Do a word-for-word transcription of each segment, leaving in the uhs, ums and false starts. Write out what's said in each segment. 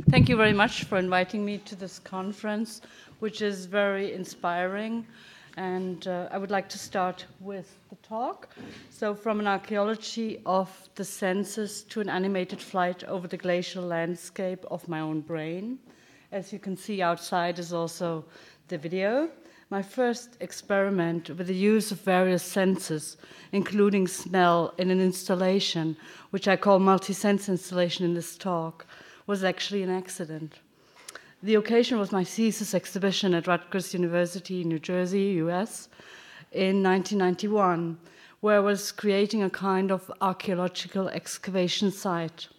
Thank you very much for inviting me to this conference, which is very inspiring. And uh, I would like to start with the talk. So from an archaeology of the senses to an animated flight over the glacial landscape of my own brain. As you can see outside is also the video. My first experiment with the use of various senses, including smell, in an installation, which I call multi-sense installation in this talk, was actually an accident. The occasion was my thesis exhibition at Rutgers University in New Jersey, U S, in nineteen ninety-one, where I was creating a kind of archaeological excavation site.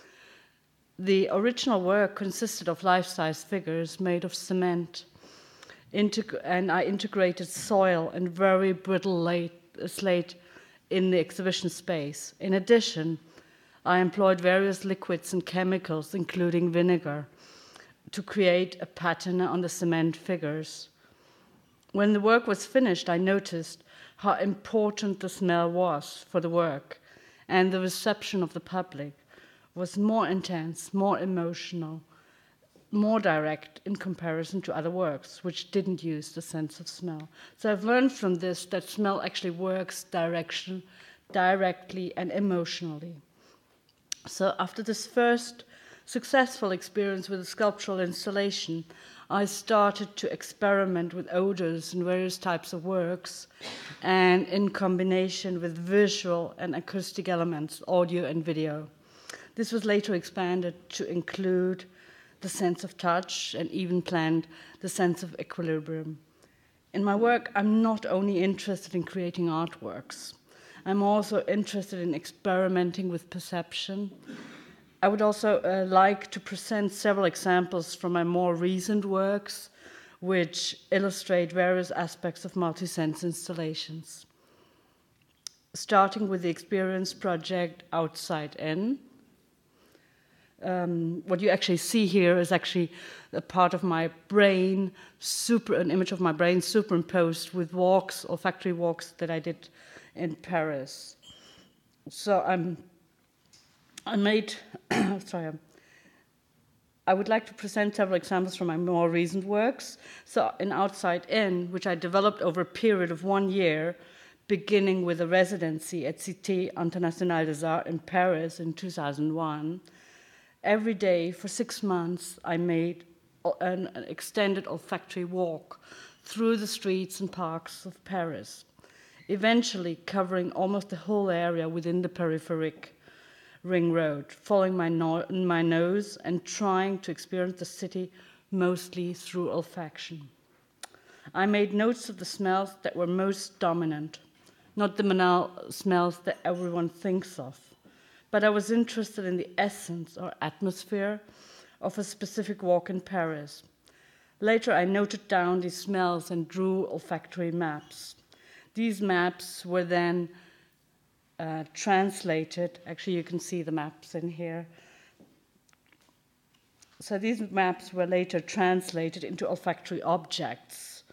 The original work consisted of life-size figures made of cement, Integ- and I integrated soil and very brittle late, uh, slate in the exhibition space. In addition, I employed various liquids and chemicals, including vinegar, to create a pattern on the cement figures. When the work was finished, I noticed how important the smell was for the work, and the reception of the public was more intense, more emotional, more direct in comparison to other works, which didn't use the sense of smell. So I've learned from this that smell actually works direction, directly and emotionally. So after this first successful experience with a sculptural installation, I started to experiment with odors in various types of works and in combination with visual and acoustic elements, audio and video. This was later expanded to include the sense of touch and even planned the sense of equilibrium. In my work, I'm not only interested in creating artworks, I'm also interested in experimenting with perception. I would also uh, like to present several examples from my more recent works, which illustrate various aspects of multi-sense installations. Starting with the experience project Outside In. Um, what you actually see here is actually a part of my brain, super, an image of my brain superimposed with walks or factory walks that I did in Paris. So I'm, I made, sorry, I would like to present several examples from my more recent works. So in Outside In, which I developed over a period of one year, beginning with a residency at Cité Internationale des Arts in Paris in two thousand one, every day for six months, I made an, an extended olfactory walk through the streets and parks of Paris, eventually covering almost the whole area within the peripheric ring road, following my, no- my nose and trying to experience the city mostly through olfaction. I made notes of the smells that were most dominant, not the banal smells that everyone thinks of, but I was interested in the essence or atmosphere of a specific walk in Paris. Later, I noted down these smells and drew olfactory maps. These maps were then uh, translated. Actually, you can see the maps in here. So these maps were later translated into olfactory objects,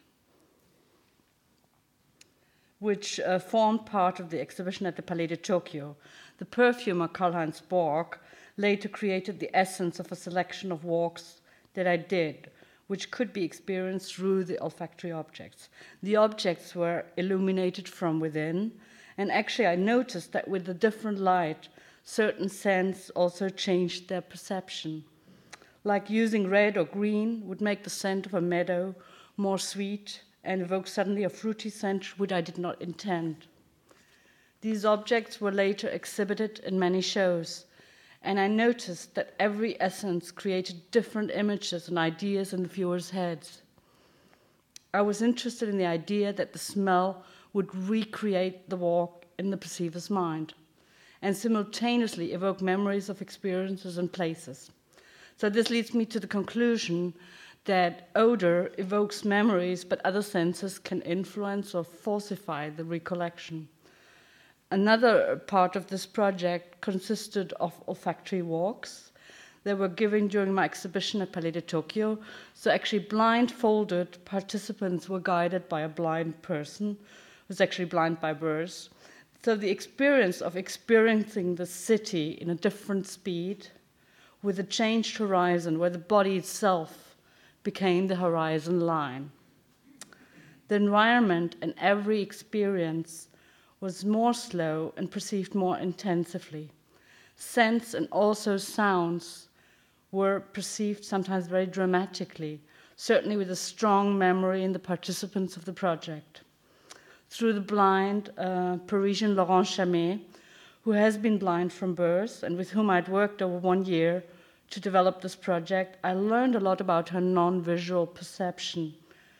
which uh, formed part of the exhibition at the Palais de Tokyo. The perfumer Karl-Heinz Borg later created the essence of a selection of walks that I did, which could be experienced through the olfactory objects. The objects were illuminated from within, and actually I noticed that with the different light, certain scents also changed their perception. Like using red or green would make the scent of a meadow more sweet and evoke suddenly a fruity scent which I did not intend. These objects were later exhibited in many shows, and I noticed that every essence created different images and ideas in the viewers' heads. I was interested in the idea that the smell would recreate the walk in the perceiver's mind and simultaneously evoke memories of experiences and places. So this leads me to the conclusion that odor evokes memories, but other senses can influence or falsify the recollection. Another part of this project consisted of olfactory walks. They were given during my exhibition at Palais de Tokyo. So actually blindfolded participants were guided by a blind person who was actually blind by birth. So the experience of experiencing the city in a different speed with a changed horizon where the body itself became the horizon line. The environment and every experience was more slow and perceived more intensively. Scents and also sounds were perceived sometimes very dramatically, certainly with a strong memory in the participants of the project. Through the blind uh, Parisian Laurent Chamet, who has been blind from birth and with whom I'd worked over one year to develop this project, I learned a lot about her non-visual perception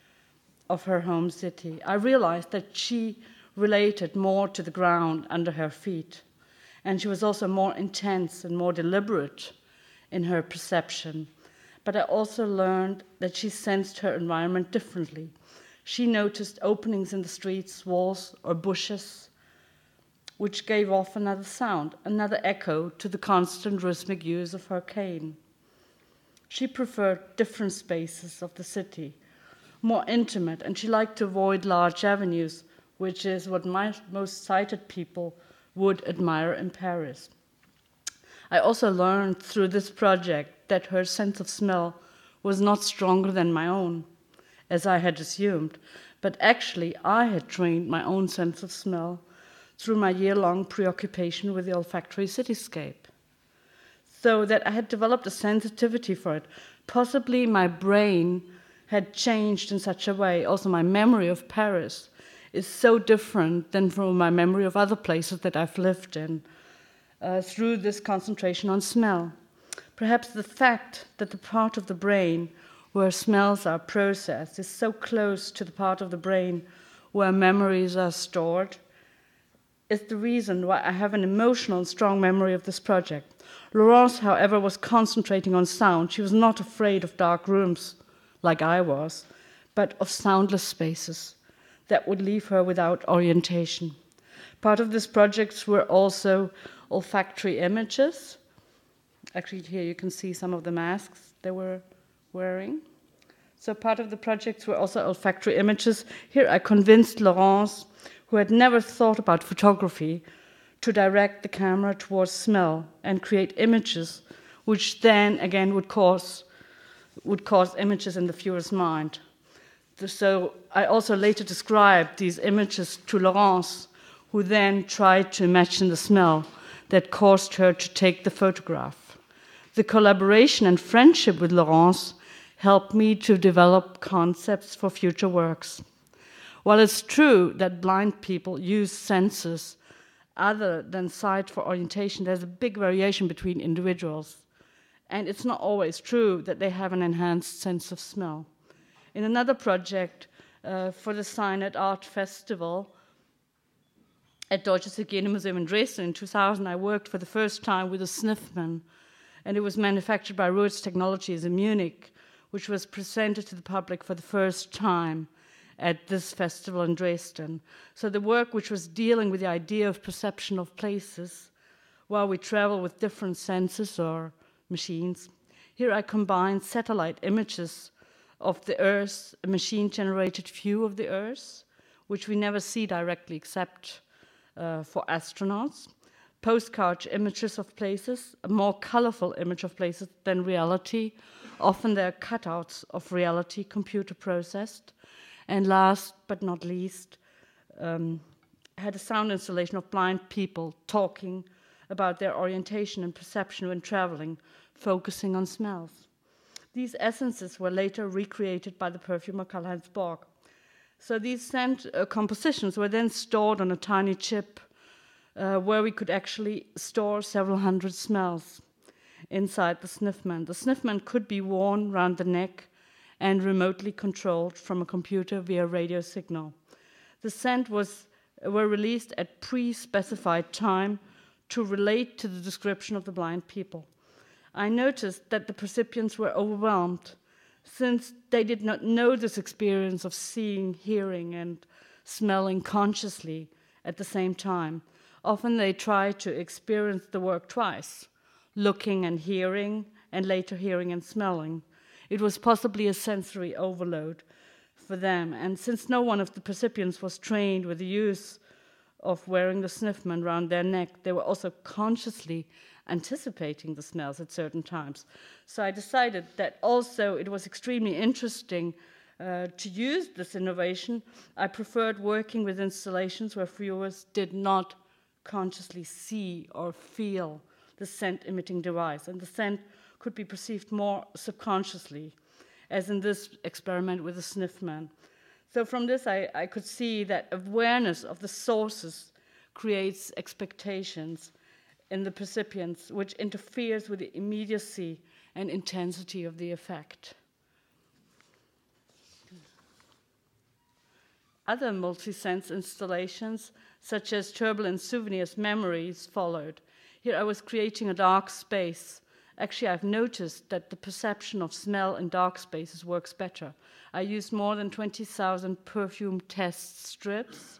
of her home city. I realized that she related more to the ground under her feet, and she was also more intense and more deliberate in her perception. But I also learned that she sensed her environment differently. She noticed openings in the streets, walls, or bushes, which gave off another sound, another echo to the constant rhythmic use of her cane. She preferred different spaces of the city, more intimate, and she liked to avoid large avenues, which is what my, most sighted people would admire in Paris. I also learned through this project that her sense of smell was not stronger than my own, as I had assumed, but actually I had trained my own sense of smell through my year-long preoccupation with the olfactory cityscape, so that I had developed a sensitivity for it. Possibly my brain had changed in such a way. Also, my memory of Paris is so different than from my memory of other places that I've lived in uh, through this concentration on smell. Perhaps the fact that the part of the brain where smells are processed is so close to the part of the brain where memories are stored is the reason why I have an emotional and strong memory of this project. Laurence, however, was concentrating on sound. She was not afraid of dark rooms like I was, but of soundless spaces that would leave her without orientation. Part of this project were also olfactory images. Actually, here you can see some of the masks they were wearing. So part of the projects were also olfactory images. Here I convinced Laurence, who had never thought about photography, to direct the camera towards smell and create images, which then again would cause, would cause images in the viewer's mind. So I also later described these images to Laurence, who then tried to imagine the smell that caused her to take the photograph. The collaboration and friendship with Laurence helped me to develop concepts for future works. While it's true that blind people use senses other than sight for orientation, there's a big variation between individuals. And it's not always true that they have an enhanced sense of smell. In another project uh, for the Signet Art Festival at Deutsches Hygienemuseum in Dresden in two thousand, I worked for the first time with a Sniffman, and it was manufactured by Ruitz Technologies in Munich, which was presented to the public for the first time at this festival in Dresden. So the work which was dealing with the idea of perception of places while we travel with different senses or machines. Here I combined satellite images of the Earth, a machine-generated view of the Earth, which we never see directly except uh, for astronauts, postcard images of places, a more colorful image of places than reality. Often they're cutouts of reality, computer processed. And last but not least, um, had a sound installation of blind people talking about their orientation and perception when traveling, focusing on smells. These essences were later recreated by the perfumer Karl-Heinz Borg. So these scent uh, compositions were then stored on a tiny chip uh, where we could actually store several hundred smells inside the Sniffman. The Sniffman could be worn around the neck and remotely controlled from a computer via radio signal. The scent was, were released at pre-specified time to relate to the description of the blind people. I noticed that the recipients were overwhelmed since they did not know this experience of seeing, hearing, and smelling consciously at the same time. Often they try to experience the work twice, looking and hearing, and later hearing and smelling. It was possibly a sensory overload for them. And since no one of the recipients was trained with the use of wearing the sniffman around their neck, they were also consciously anticipating the smells at certain times. So I decided that also it was extremely interesting uh, to use this innovation. I preferred working with installations where viewers did not consciously see or feel the scent-emitting device, and the scent could be perceived more subconsciously, as in this experiment with the sniffman. So from this, I, I could see that awareness of the sources creates expectations in the percipients, which interferes with the immediacy and intensity of the effect. Other multi-sense installations, such as turbulent souvenirs, memories, followed. Here I was creating a dark space. Actually, I've noticed that the perception of smell in dark spaces works better. I used more than twenty thousand perfume test strips,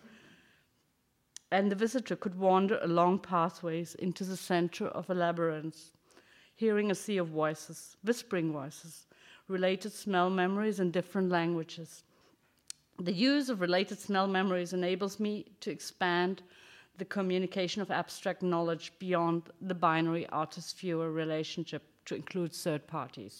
and the visitor could wander along pathways into the center of a labyrinth, hearing a sea of voices, whispering voices, related smell memories in different languages. The use of related smell memories enables me to expand the communication of abstract knowledge beyond the binary artist-viewer relationship to include third parties.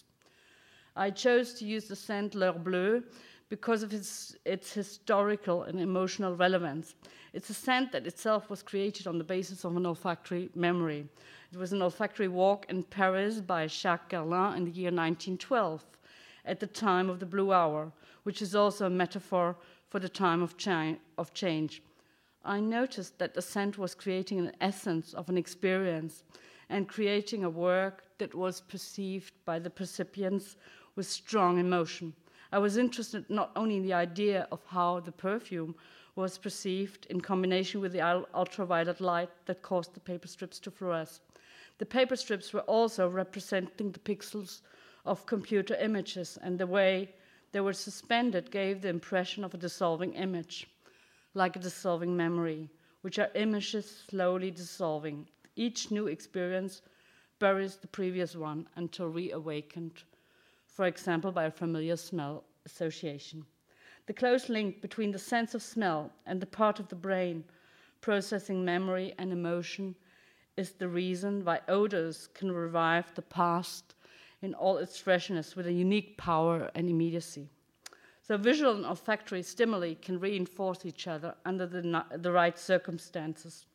I chose to use the scent L'Heure Bleue because of its, its historical and emotional relevance. It's a scent that itself was created on the basis of an olfactory memory. It was an olfactory walk in Paris by Jacques Garlin in the year nineteen twelve, at the time of the Blue Hour, which is also a metaphor for the time of, cha- of change. I noticed that the scent was creating an essence of an experience and creating a work that was perceived by the percipients with strong emotion. I was interested not only in the idea of how the perfume was perceived in combination with the ultraviolet light that caused the paper strips to fluoresce. The paper strips were also representing the pixels of computer images, and the way they were suspended gave the impression of a dissolving image, like a dissolving memory, which are images slowly dissolving. Each new experience buries the previous one until reawakened, for example, by a familiar smell association. The close link between the sense of smell and the part of the brain processing memory and emotion is the reason why odors can revive the past in all its freshness with a unique power and immediacy. So visual and olfactory stimuli can reinforce each other under the, the right circumstances.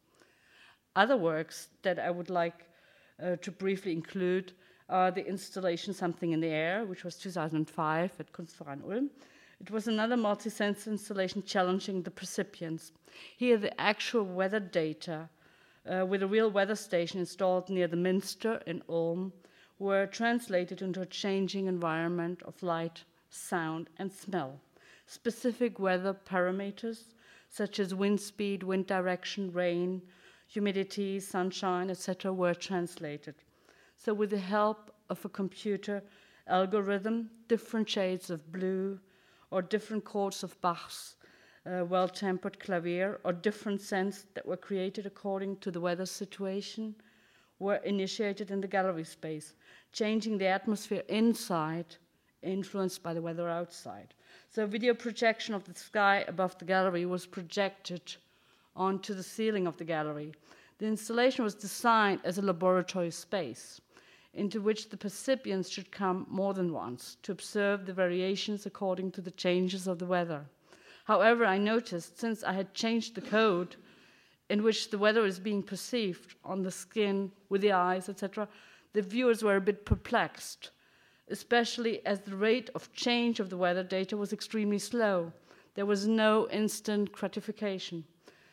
Other works that I would like uh, to briefly include are the installation Something in the Air, which was two thousand five at Kunstverein Ulm. It was another multi-sense installation challenging the percipients. Here the actual weather data uh, with a real weather station installed near the Minster in Ulm were translated into a changing environment of light, sound, and smell. Specific weather parameters, such as wind speed, wind direction, rain, humidity, sunshine, et cetera, were translated. So with the help of a computer algorithm, different shades of blue or different chords of Bach's uh, well-tempered clavier or different scents that were created according to the weather situation were initiated in the gallery space, changing the atmosphere inside, influenced by the weather outside. So video projection of the sky above the gallery was projected onto the ceiling of the gallery. The installation was designed as a laboratory space into which the percipients should come more than once to observe the variations according to the changes of the weather. However, I noticed, since I had changed the code in which the weather is being perceived on the skin, with the eyes, et cetera, the viewers were a bit perplexed, especially as the rate of change of the weather data was extremely slow. There was no instant gratification.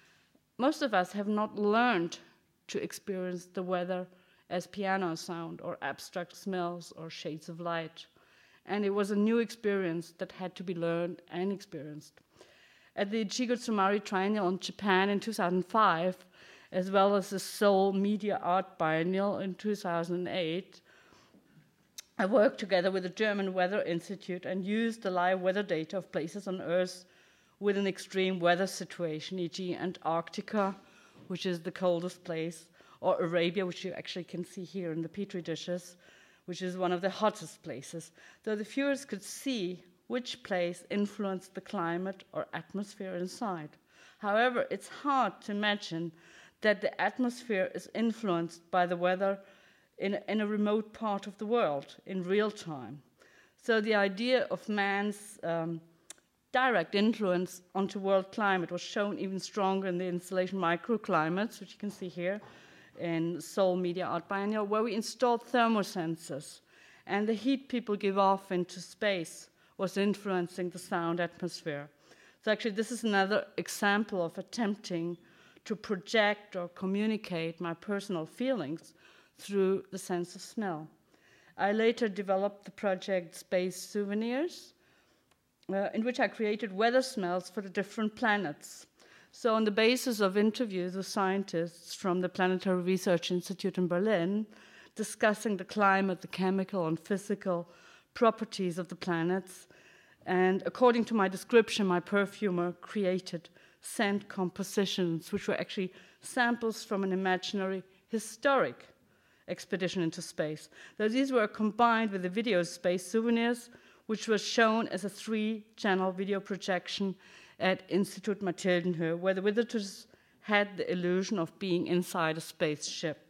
Most of us have not learned to experience the weather as piano sound or abstract smells or shades of light. And it was a new experience that had to be learned and experienced. At the Ichigo Tsumari Triennial in Japan in two thousand five, as well as the Seoul Media Art Biennial in two thousand eight, I worked together with the German Weather Institute and used the live weather data of places on Earth with an extreme weather situation, for example Antarctica, which is the coldest place, or Arabia, which you actually can see here in the Petri dishes, which is one of the hottest places. So the viewers could see which place influenced the climate or atmosphere inside. However, it's hard to imagine that the atmosphere is influenced by the weather in, in a remote part of the world in real time. So the idea of man's um, direct influence onto world climate was shown even stronger in the installation Microclimates, which you can see here in Seoul Media Art Biennial, where we installed thermosensors, and the heat people give off into space was influencing the sound atmosphere. So actually, this is another example of attempting to project or communicate my personal feelings through the sense of smell. I later developed the project Space Souvenirs, uh, in which I created weather smells for the different planets. So on the basis of interviews with scientists from the Planetary Research Institute in Berlin, discussing the climate, the chemical and physical properties of the planets, and according to my description, my perfumer created scent compositions, which were actually samples from an imaginary historic expedition into space. Though these were combined with the video Space Souvenirs, which was shown as a three-channel video projection at Institut Mathildenhöhe, where the visitors had the illusion of being inside a spaceship.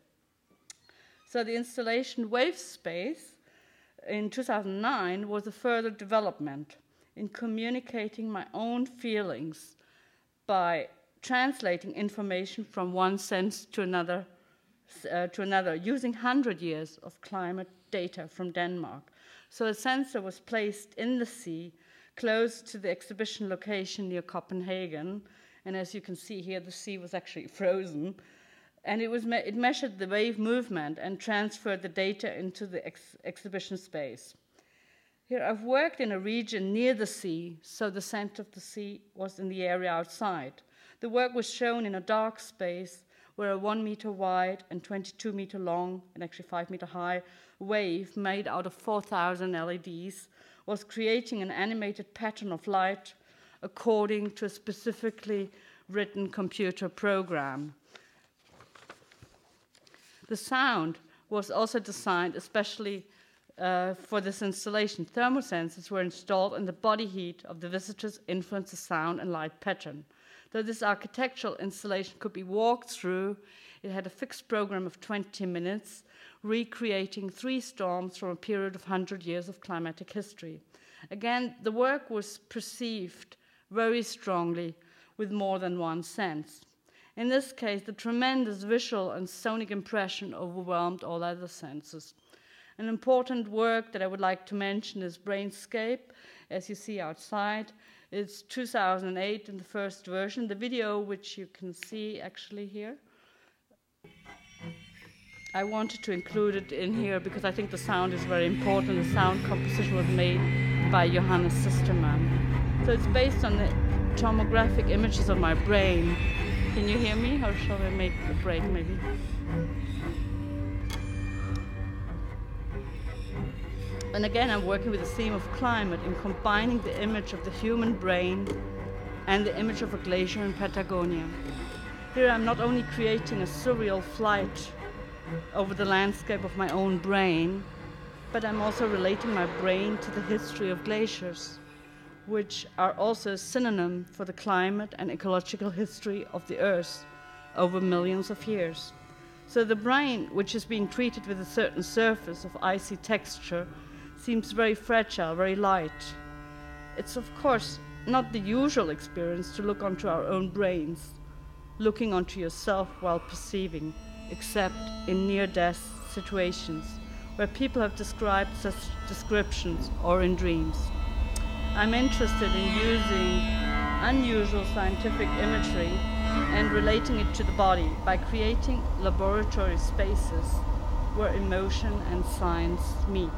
So the installation Wave Space in two thousand nine was a further development in communicating my own feelings by translating information from one sense to another, uh, to another, using one hundred years of climate data from Denmark. So a sensor was placed in the sea, close to the exhibition location near Copenhagen, and as you can see here, the sea was actually frozen, and it, was me it measured the wave movement and transferred the data into the ex exhibition space. Here, I've worked in a region near the sea, so the scent of the sea was in the area outside. The work was shown in a dark space where a one meter wide and twenty-two meter long, and actually five meter high, wave made out of four thousand L E Ds was creating an animated pattern of light according to a specifically written computer program. The sound was also designed especially uh, for this installation. Thermosensors were installed, and the body heat of the visitors influenced the sound and light pattern. Though this architectural installation could be walked through, it had a fixed program of twenty minutes, recreating three storms from a period of one hundred years of climatic history. Again, the work was perceived very strongly with more than one sense. In this case, the tremendous visual and sonic impression overwhelmed all other senses. An important work that I would like to mention is Brainscape, as you see outside. It's two thousand eight in the first version. The video, which you can see actually here, I wanted to include it in here because I think the sound is very important. The sound composition was made by Johannes Sistermann. So it's based on the tomographic images of my brain. Can you hear me, or shall I make a break maybe? And again, I'm working with the theme of climate in combining the image of the human brain and the image of a glacier in Patagonia. Here I'm not only creating a surreal flight over the landscape of my own brain, but I'm also relating my brain to the history of glaciers, which are also a synonym for the climate and ecological history of the Earth over millions of years. So the brain, which is being treated with a certain surface of icy texture, seems very fragile, very light. It's of course not the usual experience to look onto our own brains, looking onto yourself while perceiving, except in near-death situations, where people have described such descriptions or in dreams. I'm interested in using unusual scientific imagery and relating it to the body by creating laboratory spaces where emotion and science meet.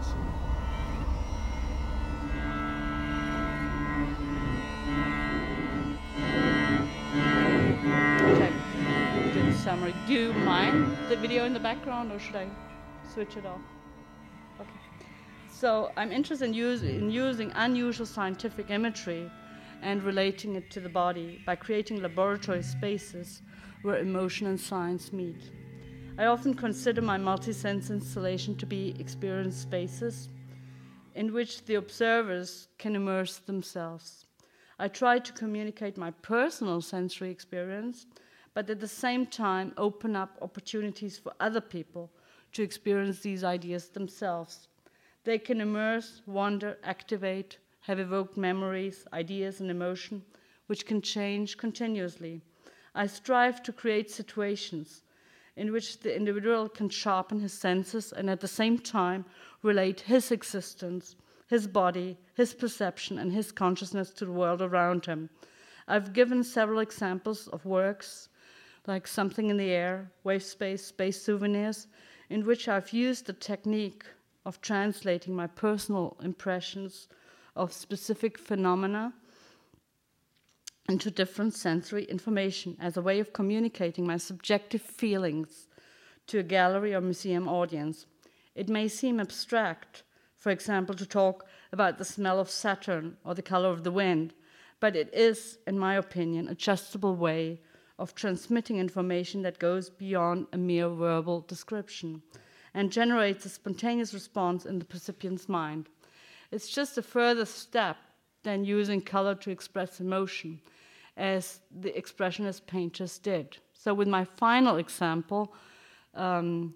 Okay, do the summary. Do you mind the video in the background, or should I switch it off? Okay. So I'm interested in, use, in using unusual scientific imagery and relating it to the body by creating laboratory spaces where emotion and science meet. I often consider my multi-sense installation to be experience spaces in which the observers can immerse themselves. I try to communicate my personal sensory experience, but at the same time open up opportunities for other people to experience these ideas themselves. They can immerse, wonder, activate, have evoked memories, ideas, and emotion, which can change continuously. I strive to create situations in which the individual can sharpen his senses and at the same time relate his existence, his body, his perception, and his consciousness to the world around him. I've given several examples of works like Something in the Air, Wave Space, Space Souvenirs, in which I've used the technique of translating my personal impressions of specific phenomena into different sensory information as a way of communicating my subjective feelings to a gallery or museum audience. It may seem abstract, for example, to talk about the smell of Saturn or the color of the wind, but it is, in my opinion, an adjustable way of transmitting information that goes beyond a mere verbal description and generates a spontaneous response in the recipient's mind. It's just a further step than using color to express emotion, as the expressionist painters did. So with my final example, um,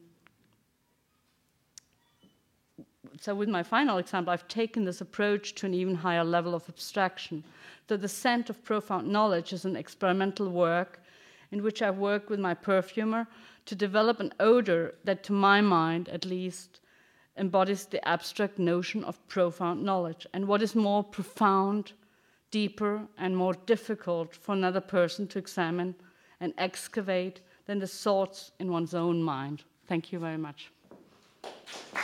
so with my final example, I've taken this approach to an even higher level of abstraction. So the Scent of Profound Knowledge is an experimental work in which I've worked with my perfumer to develop an odor that, to my mind at least, embodies the abstract notion of profound knowledge. And what is more profound, deeper, and more difficult for another person to examine and excavate than the thoughts in one's own mind. Thank you very much.